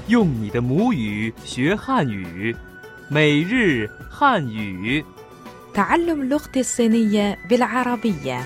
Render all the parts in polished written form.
用你的母语学汉语，每日汉语。 تعلم اللغة الصينية بالعربية.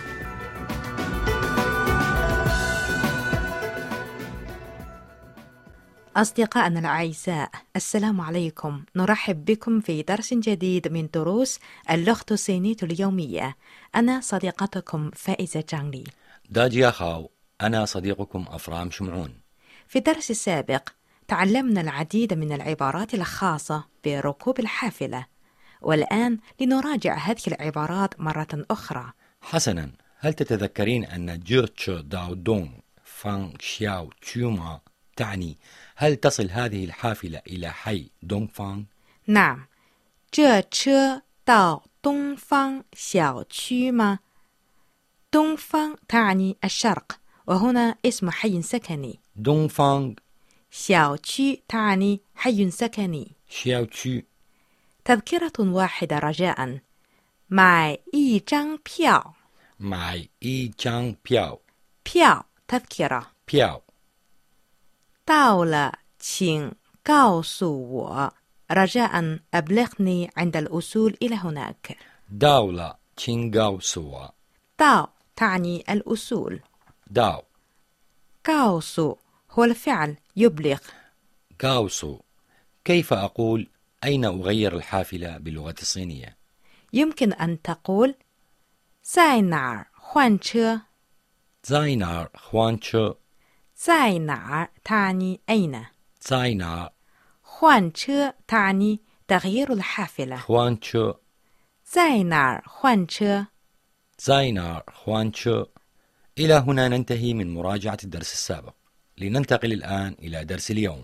أصدقائنا الأعزاء، السلام عليكم. نرحب بكم في درس جديد من دروس اللغة الصينية اليومية. أنا صديقتكم فائزة جانلي. داجيا خاو، أنا صديقكم أفرام شمعون. في الدرس السابق تعلمنا العديد من العبارات الخاصة بركوب الحافلة، والآن لنراجع هذه العبارات مرة أخرى. حسناً، هل تتذكرين أن جو تشو داو دونغ فان شياو تشيوما تعني هل تصل هذه الحافلة إلى حي دونغ فان؟ نعم. 这车到东方小区吗؟ 东方تعني الشرق، وهنا اسم حي سكني. دونغ فان. 小区تعني حي سكني. شياو تشو. تذكرة واحدة رجاء. 买一张票. معي إي جانغ بياو. 票 تذكرة. بياو. 到了请告诉我. رجاء أبلغني عند الوصول إلى هناك. داولا تشينغاو سوا. داو تعني الوصول. داو. 告诉 هو الفعل يبلغ. غاوسو. كيف أقول أين أغير الحافلة باللغة الصينية؟ يمكن أن تقول 在哪儿换车. زاينار خوانشو. 在哪儿 تعني أين. زاينار. 换车 تعني تغيير الحافلة. خوانشو. 在哪儿换车. زاينار خوانشو. إلى هنا ننتهي من مراجعة الدرس السابق. لننتقل الآن إلى درس اليوم.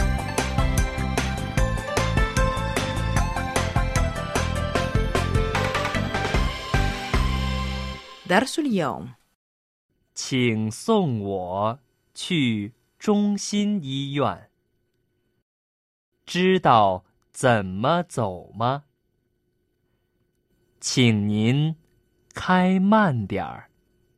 درس اليوم. 请送我去中心医院。知道怎么走吗？请您开慢点儿，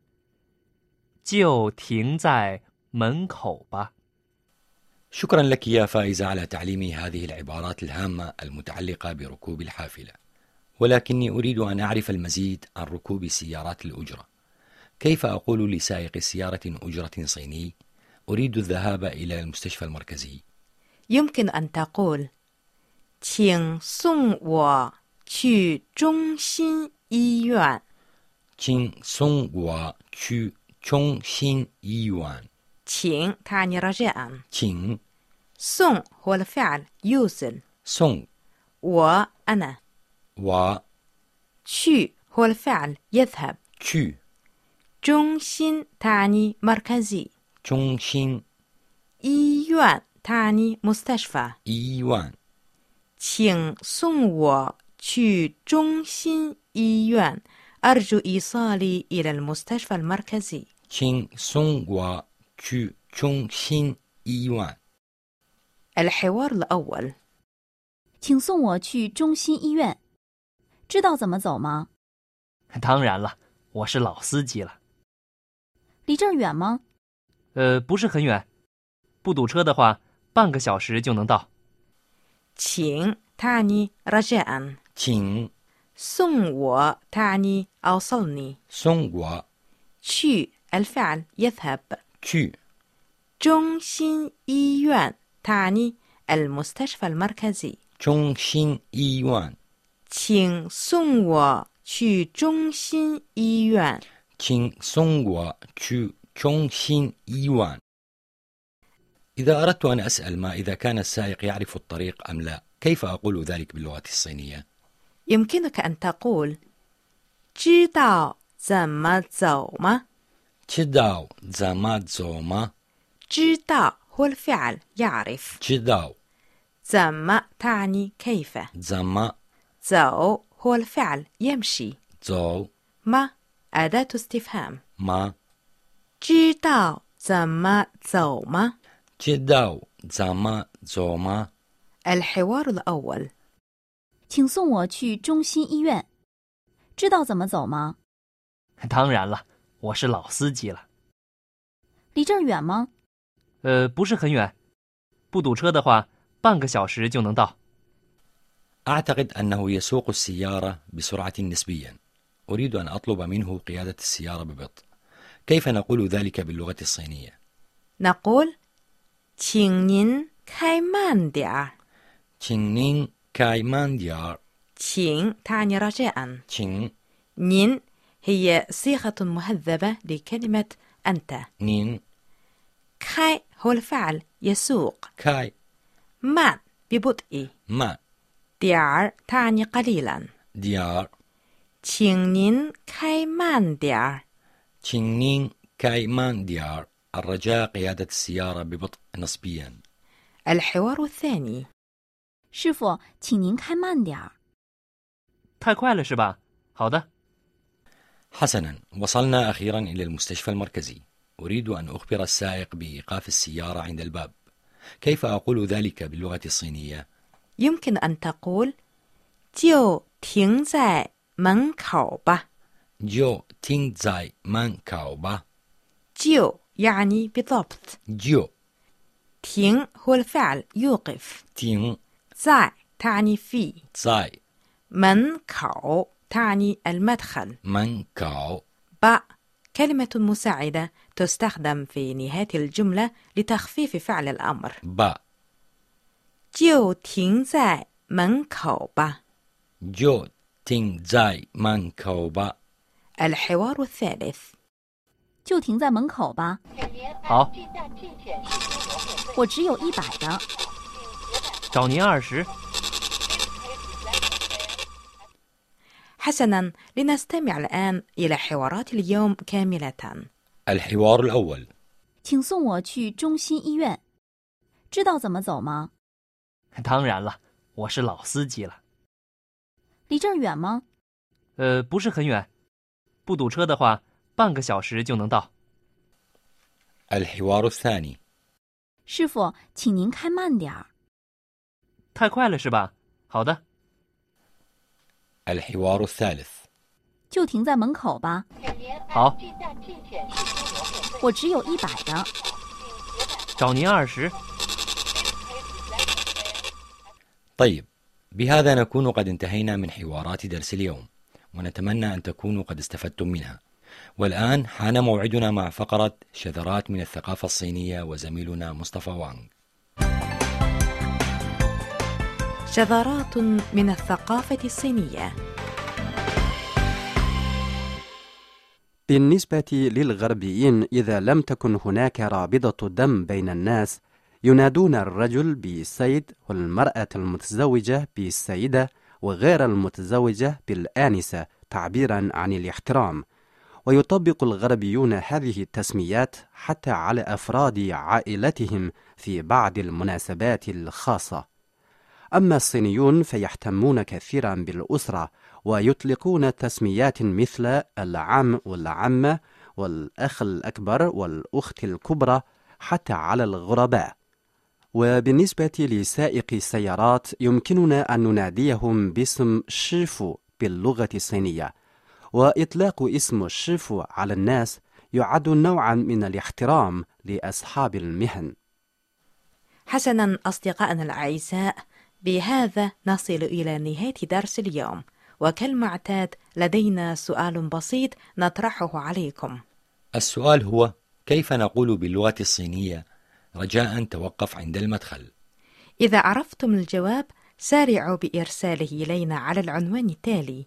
就停在门口吧。 شكرا لك يا فائزة على تعليمي هذه العبارات الهامة المتعلقة بركوب الحافلة، ولكني أريد أن أعرف المزيد عن ركوب سيارات الأجرة. كيف أقول لسائق سيارة أجرة صيني أريد الذهاب إلى المستشفى المركزي؟ يمكن أن تقول 请送我去中心医院. 请送我去中心医院. 请 تعني رجاء. 请送هو الفعل يوصل. 送 وأنا. 我去هو الفعل يذهب. 去中心 تعني مركزي. 中心医院 تعني مستشفى. 医院. 请送我去中心医院. أرجو إيصالي إلى المستشفى المركزي. 请送我去中心医院. الحوار الأول. 请送我去中心医院。知道怎么走吗？ 当然了，我是老司机了。 离这儿远吗？ 不是很远，不堵车的话，半个小时就能到。 请 تعني رجاء. 请送我 تعني أوصلني. 送我去 الفعل يذهب. 去中心医院 تعني المستشفى المركزي. 中心医院. 请送我去中心医院. 请送我去中心医院. إذا أردت أن أسأل ما إذا كان السائق يعرف الطريق أم لا، كيف أقول ذلك باللغة الصينية؟ يمكنك أن تقول 知道怎么走吗؟ 知道怎么走吗？ 知道 هو الفعل يعرف. 知道怎么 تعني كيف. 怎么走 هو الفعل يمشي. 走 ما أداة استفهام. 吗？ 知道怎么走吗？ 知道怎么走吗？ الحوار الأول. 请送我去中心医院。知道怎么走吗？ 当然了，我是老司机了。 离这儿远吗？ 不是很远， 不堵车的话，半个小时就能到。 أعتقد أنه يسوق السيارة بسرعة نسبيا. أريد أن أطلب منه قيادة السيارة ببطء. كيف نقول ذلك باللغة الصينية؟ نقول 请您开慢点儿. تشينين كاي مان ديار. 请 تعني رجاء. تشين نين هي صيغة مهذبة لكلمة أنت. نين. كاي هو الفعل يسوق. كاي مان ببطء. ما. ديار تعني قليلا. ديار. 请您开慢点儿. تشينين كاي مان ديار. الرجاء قيادة السيارة ببطء نسبيا. الحوار الثاني. 师傅，请您开慢点儿。 太快了是吧？好的。 حسنا، وصلنا أخيرا إلى المستشفى المركزي. أريد أن أخبر السائق بإيقاف السيارة عند الباب. كيف أقول ذلك باللغة الصينية؟ يمكن أن تقول 就停在门口吧. جو تينغ زاي مان كاو با. 就 يعني بالضبط. جو. تين هو الفعل يوقف. تينغ زاي تعني في. زاي. من كاو تعني المدخل. من كاو. با كلمة مساعدة تستخدم في نهاية الجملة لتخفيف فعل الأمر. با. 就停在门口吧. جو تينغ زاي مان كاو با. الحوار الثالث. 就停在门口吧。 好， 我只有100的。 找您20。 حسنا، لنستمع الآن إلى حوارات اليوم كاملة. الحوار الأول. 请送我去中心医院。知道怎么走吗？ 当然了，我是老司机了。 离这儿远吗？ 不是很远，不堵车的话，半个小时就能到。 الحوار الثاني. 师傅，请您开慢点儿。 太快了是吧？好的。 الحوار الثالث. 就停在门口吧。 好， 我只有100的。 找您20。 طيب، بهذا نكون قد انتهينا من حوارات درس اليوم، ونتمنى أن تكونوا قد استفدتم منها. والآن حان موعدنا مع فقرة شذرات من الثقافة الصينية وزميلنا مصطفى وانغ. شذرات من الثقافة الصينية. بالنسبة للغربيين، إذا لم تكن هناك رابطة دم بين الناس، ينادون الرجل بالسيد والمرأة المتزوجة بالسيدة وغير المتزوجة بالآنسة تعبيرا عن الاحترام. ويطبق الغربيون هذه التسميات حتى على أفراد عائلتهم في بعض المناسبات الخاصة. أما الصينيون فيهتمون كثيرا بالأسرة، ويطلقون تسميات مثل العم والعمة والأخ الأكبر والأخت الكبرى حتى على الغرباء. وبالنسبة لسائق السيارات يمكننا أن نناديهم باسم شيفو باللغة الصينية، وإطلاق اسم الشيفو على الناس يعد نوعا من الاحترام لأصحاب المهن. حسنا أصدقائنا الأعزاء، بهذا نصل إلى نهاية درس اليوم، وكالمعتاد لدينا سؤال بسيط نطرحه عليكم. السؤال هو: كيف نقول باللغة الصينية رجاء توقف عند المدخل؟ إذا عرفتم الجواب سارعوا بإرساله إلينا على العنوان التالي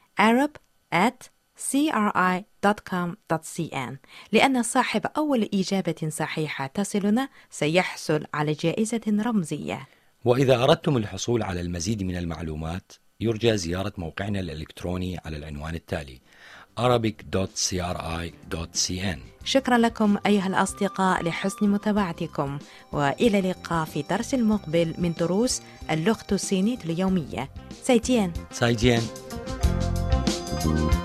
arab@cri.com.cn، لأن صاحب أول إجابة صحيحة تصلنا سيحصل على جائزة رمزية. وإذا أردتم الحصول على المزيد من المعلومات يرجى زيارة موقعنا الإلكتروني على العنوان التالي arabic.cri.cn. شكرا لكم أيها الأصدقاء لحسن متابعتكم، وإلى اللقاء في درس المقبل من دروس اللغة الصينية اليومية. 再见. 再见.